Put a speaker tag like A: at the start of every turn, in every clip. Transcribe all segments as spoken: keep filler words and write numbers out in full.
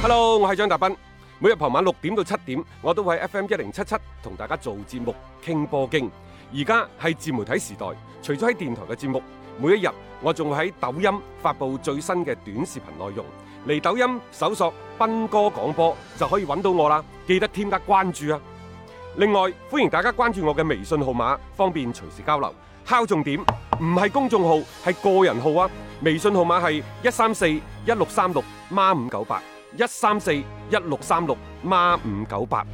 A: Hello， 我係張達斌。每日傍晚六點到七點，我都會喺 F M 一零七七同大家做節目傾波經。而家係自媒體時代，除咗喺電台嘅節目，每一日我仲會喺抖音發布最新嘅短視頻內容。嚟抖音搜索斌哥廣播就可以揾到我啦，記得添加關注啊！另外，歡迎大家關注我嘅微信號碼，方便隨時交流。敲重點，唔係公眾號，係個人號啊！微信號碼係一三四一六三六孖五九八。一三四一六三六孖五九八。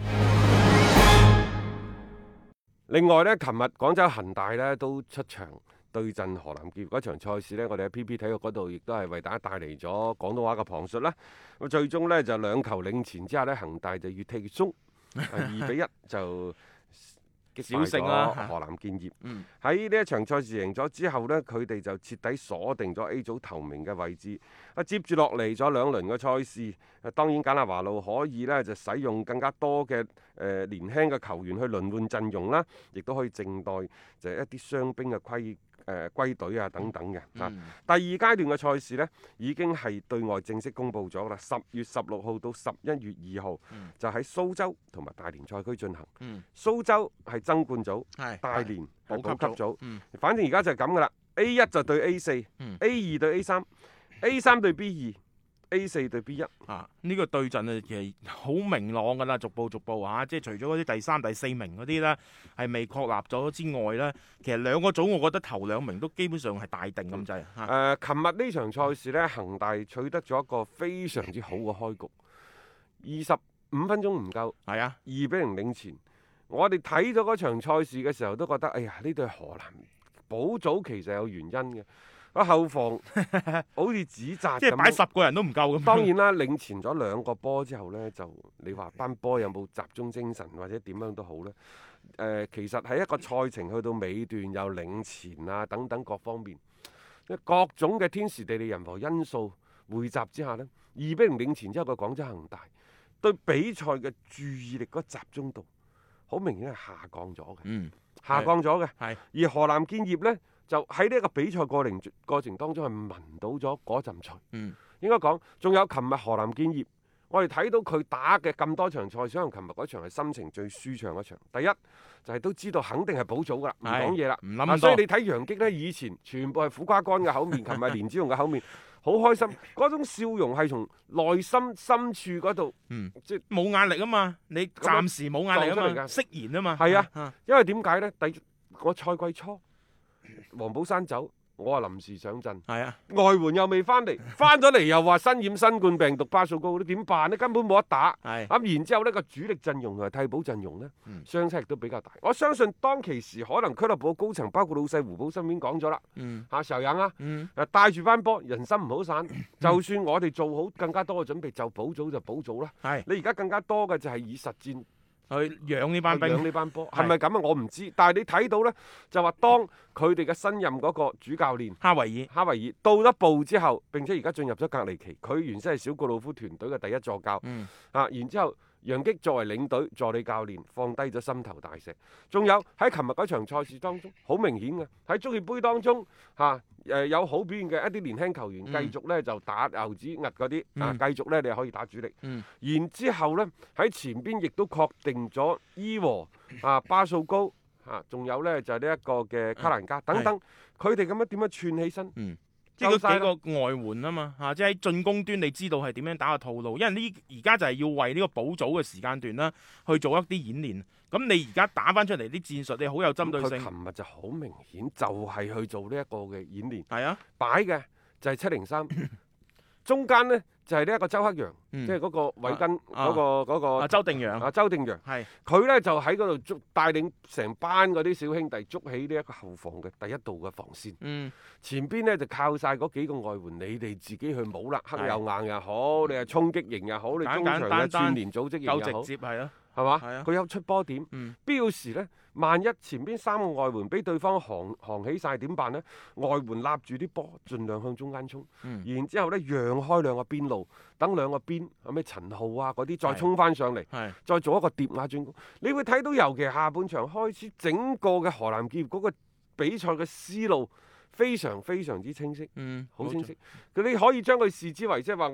A: 另外呢，琴日廣州恒大呢都出場對陣河南建業嗰場賽事呢，我哋喺 P P 體育嗰度亦都係為大家帶嚟咗廣東話嘅旁述啦。咁最終呢，就兩球領前之下呢，恒大就越踢越鬆，二比一就小勝啦！河南建業喺呢一場賽事贏咗之後呢，佢哋就徹底鎖定咗 A 組頭名嘅位置。啊，接住落嚟咗兩輪嘅賽事，啊當然簡拿華路可以呢就使用更加多嘅誒、呃、年輕嘅球員去輪換陣容啦，亦都可以靜待就係一啲傷兵嘅歸誒歸隊啊等等嘅。嗯、啊，第二階段嘅賽事呢，已經係對外正式公佈咗啦，十月十六號到十一月二號、嗯、就喺蘇州同埋大連賽區進行。嗯、蘇州係爭冠組，是大連係保級組。嗯、反正而家就係咁噶啦 ，A 一就對 A 四、嗯、A 二對 A 三。A 三對 B 二 ，A 四對 B 一
B: 啊！呢、這個對陣啊，其實好明朗㗎啦，逐步逐步啊，即係除咗嗰啲第三、第四名嗰啲咧係未確立咗之外咧，其實兩個組我覺得頭兩名都基本上係大定咁滯。誒、嗯，
A: 琴日呢場賽事咧，恒大取得咗一個非常之好嘅開局，二十五分鐘唔夠，係啊，二比零領前。我哋睇咗嗰場賽事嘅時候都覺得，哎呀，呢隊河南保組其實有原因嘅。個後防好似指責咁，
B: 即係擺十個人都唔夠咁。
A: 當然啦，領前咗兩個波之後呢，就你話班波有冇集中精神或者點樣都好呢？誒、呃，其實喺一個賽程去到尾段有領前啊等等各方面，各種嘅天時地利人和因素匯集之下呢，二比零領前之後嘅廣州恒大對比賽嘅注意力嗰集中度好明顯係下降咗嘅，嗯、下降咗嘅。而河南建業呢，就喺呢一個比賽過程過程當中係聞到咗嗰陣除，嗯、應該講仲有琴日河南建業，我哋睇到佢打嘅咁多場賽，可能琴日嗰場係心情最舒暢嗰場。第一就係、是、都知道肯定係保組噶啦，唔講嘢啦，唔諗咁多。所以你睇楊擊呢，以前全部係苦瓜乾嘅口面，琴日連子雄嘅口面，好開心，嗰種笑容係從內心深處嗰度，
B: 嗯、即係冇壓力啊嘛，你暫時冇壓力啊嘛，釋然啊嘛。
A: 係啊，啊因為點解呢？第我賽季初。黃寶山走，我話臨時上陣，係啊，外援又未翻嚟，翻咗嚟又話身染新冠病毒巴數高，你點辦呢？根本冇得打。係咁、啊，然之後呢個主力陣容同埋替補陣容呢，嗯、相差亦都比較大。我相信當其時可能俱樂部高層包括老細胡寶新已經講咗啦，嗯，下時候忍啊，嗯，誒帶住班波，人心唔好散。嗯、就算我哋做好更加多嘅準備，就保組就保組啦。係是，你而家更加多嘅就係以實戰。去養呢班兵，養呢班波，係咪咁啊？我唔知，但係你睇到呢，就話當佢哋嘅新任嗰個主教練
B: 哈維爾，
A: 哈維爾到咗步之後，並且而家進入咗隔離期，佢原先係小告魯夫團隊嘅第一助教，嗯、啊，然之後楊擊作為領隊助理教練，放低咗心頭大石。仲有喺琴日嗰場賽事當中，好明顯嘅喺足協杯當中，嚇、啊、誒、呃、有好表現嘅一啲年輕球員，繼續呢就打牛子壓嗰啲，啊，繼續呢你可以打主力。嗯、然之後呢，喺前邊亦都確定咗伊和啊巴素高啊，仲有呢就係呢一個嘅卡蘭加等等，佢哋咁樣點樣串起身？嗯
B: 即係嗰幾個外援啊嘛，嚇、啊！即係喺進攻端，你知道係點樣打個套路，因為呢而家就係要為呢個保組嘅時間段啦，去做一啲演練。咁你而家打翻出嚟啲戰術，你好有針對性。佢
A: 琴日就好明顯，就係去做呢一個嘅演練。
B: 係啊，
A: 擺嘅就係七零三，中間呢就係呢一個周克陽，嗯、即係嗰個韋根嗰、
B: 啊
A: 嗰個嗰、嗰個
B: 啊周定洋
A: 啊周定洋，係佢咧就喺嗰度捉帶領成班嗰啲小兄弟捉起呢一個後防嘅第一道嘅防線。嗯，前邊咧就靠晒嗰幾個外援，你哋自己去冇啦，黑又硬又好，你係衝擊型又好，你中場嘅串聯組織型又好，
B: 夠直接係啊。
A: 係嘛？佢有出波點，
B: 嗯、
A: 必要時呢，萬一前邊三個外援俾對方行行起晒點辦呢？外援立住啲波，盡量向中間衝，嗯、然之後呢，讓開兩個邊路，等兩個邊，有咩陳浩啊嗰啲再衝翻上嚟，再做一個疊壓進攻。你會睇到，尤其下半場開始，整個嘅河南建業嗰個比賽嘅思路非常非常之清晰，好、嗯、清晰。佢你可以將佢視之為即係話我。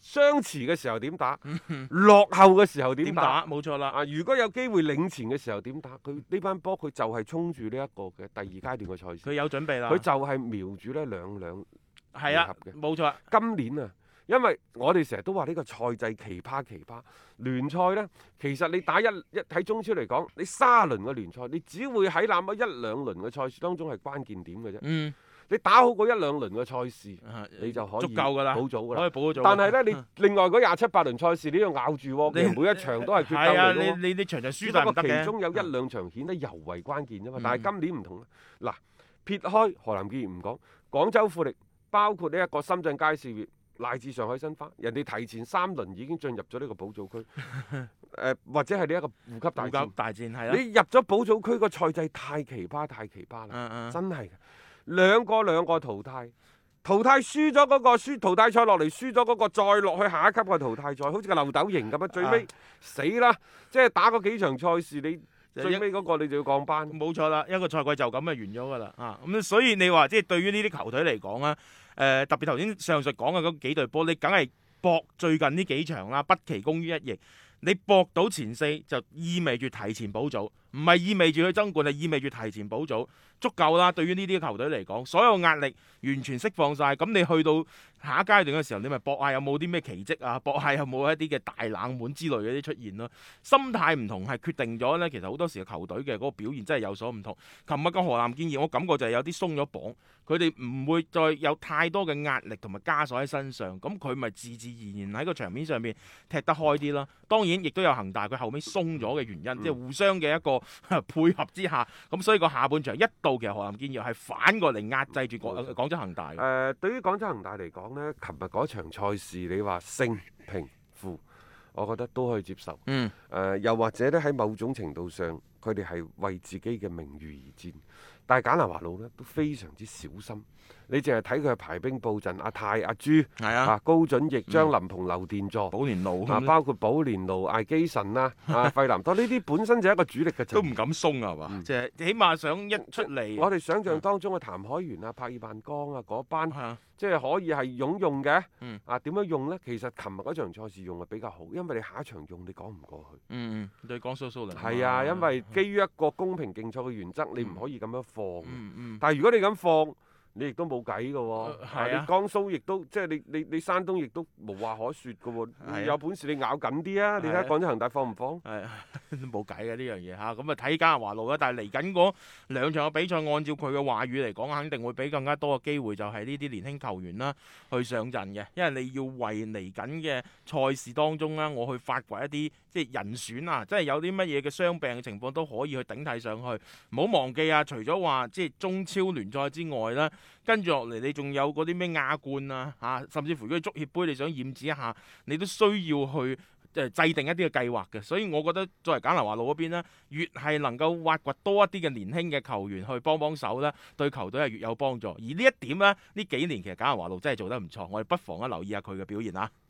A: 相持嘅時候點打，落後嘅時候點
B: 點
A: 打。
B: 打？冇錯啦。
A: 啊！如果有機會領前嘅時候點打？佢呢班波佢就係衝住呢一個嘅第二階段嘅賽事，
B: 佢有準備啦。
A: 佢就係瞄住呢兩兩
B: 係啊，
A: 回合嘅。
B: 冇錯。
A: 今年啊，因為我哋成日都話呢個賽制奇葩奇葩，聯賽呢，其實你打一一喺中超嚟講，你三輪嘅聯賽，你只會喺那麼一兩輪嘅賽事當中係關鍵點嘅啫。
B: 嗯。
A: 你打好嗰一兩輪嘅賽事，
B: 啊
A: 你就可以
B: 足夠㗎啦，
A: 保組㗎啦。
B: 可以保咗組。
A: 但係呢，你另外嗰廿七八輪賽事，你要咬住喎，
B: 你
A: 每一場都係決鬥
B: 係啊，
A: 嚟㗎喎。
B: 你你你場場輸
A: 只不過
B: 都係唔得嘅。
A: 其中有一兩場顯得尤為關鍵啫嘛。
B: 嗯
A: 但係今年唔同啦。嗱，撇開河南建業唔講，廣州富力包括呢一個深圳佳兆業乃至上海申花，人哋提前三輪已經進入咗呢個保組區。誒、呃、或者係呢一個護級大戰。
B: 大戰係啦。
A: 你入咗保組區個賽制太奇葩太奇葩啦，
B: 嗯嗯
A: 真係嘅。兩個兩個淘汰，淘汰輸咗嗰個輸淘汰賽落嚟輸咗嗰個，再落去下一級嘅淘汰賽，好似個漏斗型咁樣，最尾、
B: 啊、
A: 死啦！即係打嗰幾場賽事，你最尾嗰個你就要降班。
B: 冇錯啦，一個賽季就咁就完咗㗎啦啊！咁所以你話即係對於呢啲球隊嚟講啊，誒、呃、特別頭先上述講嘅嗰幾隊波，你梗係搏最近呢幾場啦，不期功於一役。你搏到前四就意味住提前保組，唔係意味住去爭冠，係意味住提前保組，足夠啦。對於呢啲球隊嚟講，所有壓力完全釋放晒。咁你去到下一階段嘅時候，你咪搏下有冇啲咩奇蹟啊，搏下有冇一啲嘅大冷門之類嘅啲出現咯。心態唔同係決定咗呢，其實好多時嘅球隊嘅嗰個表現真係有所唔同。琴日嘅河南建業，我感覺就係有啲鬆咗綁，佢哋唔會再有太多嘅壓力同埋枷鎖喺身上，咁佢咪自自然然喺個場面上面踢得開啲咯。當然亦都有恒大佢後尾鬆咗嘅原因，即係、嗯、互相嘅一個配合之下，咁所以個下半場一度其實河南建業係反過嚟壓制住廣廣州恒大嘅。誒、
A: 呃，對於廣州恒大嚟講呢，琴日嗰場賽事你話勝平負，我覺得都可以接受。
B: 嗯。誒、
A: 呃，又或者咧喺某種程度上，佢哋係為自己嘅名譽而戰。但係簡拿華路呢都非常之小心。你淨係睇佢排兵布陣，阿泰、阿朱、
B: 係啊、
A: 啊高準翼、張林鵬、劉殿座、
B: 寶蓮路
A: 啊，包括寶蓮路、艾基臣啦、啊費南多呢啲本身就係一個主力嘅陣，
B: 都唔敢鬆啊嘛，即係、嗯、起碼想一出嚟。
A: 我哋想象當中嘅譚海源啊、柏爾萬江啊嗰班，
B: 啊、
A: 即係可以係擁用嘅。
B: 嗯、
A: 啊點樣用呢？其實琴日嗰場賽事用係比較好，因為你下一場用你講唔過去。
B: 嗯嗯，對江蘇蘇寧。
A: 係啊，因為基於一個公平競賽嘅原則，你唔可以咁樣放。
B: 嗯嗯、
A: 但係如果你咁放，你亦都冇計嘅喎，
B: 啊
A: 啊、你江蘇亦都即係你你你山東亦都無話可説嘅喎，
B: 啊、
A: 有本事你咬緊啲啊！你睇下廣州恒大放唔放？
B: 係冇計嘅呢樣嘢嚇，咁啊睇簡拿華路啦。但係嚟緊嗰兩場嘅比賽，按照佢嘅話語嚟講，肯定會俾更加多嘅機會，就係呢啲年輕球員啦去上陣嘅，因為你要為嚟緊嘅賽事當中啦，我去發掘一啲即係人選啊，即係有啲乜嘢嘅傷病嘅情況都可以去頂替上去。唔好忘記啊，除咗話即係中超聯賽之外啦。跟住落嚟，你仲有嗰啲咩亞冠啊，嚇、啊，甚至乎如果足協杯你想驗指一下，你都需要去誒、呃、制定一啲嘅計劃嘅。所以我覺得作為簡拿華路嗰邊咧，越係能夠挖掘多一啲嘅年輕嘅球員去幫幫手咧，對球隊係越有幫助。而呢一點咧，呢幾年其實簡拿華路真係做得唔錯，我哋不妨咧留意下佢嘅表現啊。